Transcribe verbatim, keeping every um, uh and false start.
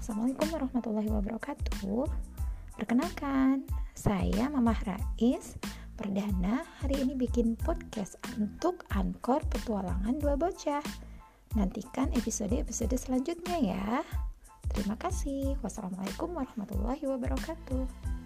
Assalamualaikum warahmatullahi wabarakatuh. Perkenalkan, saya Mamah Rais. Perdana hari ini bikin podcast untuk Anchor Petualangan Dua Bocah. Nantikan episode-episode selanjutnya ya. Terima kasih. Wassalamualaikum warahmatullahi wabarakatuh.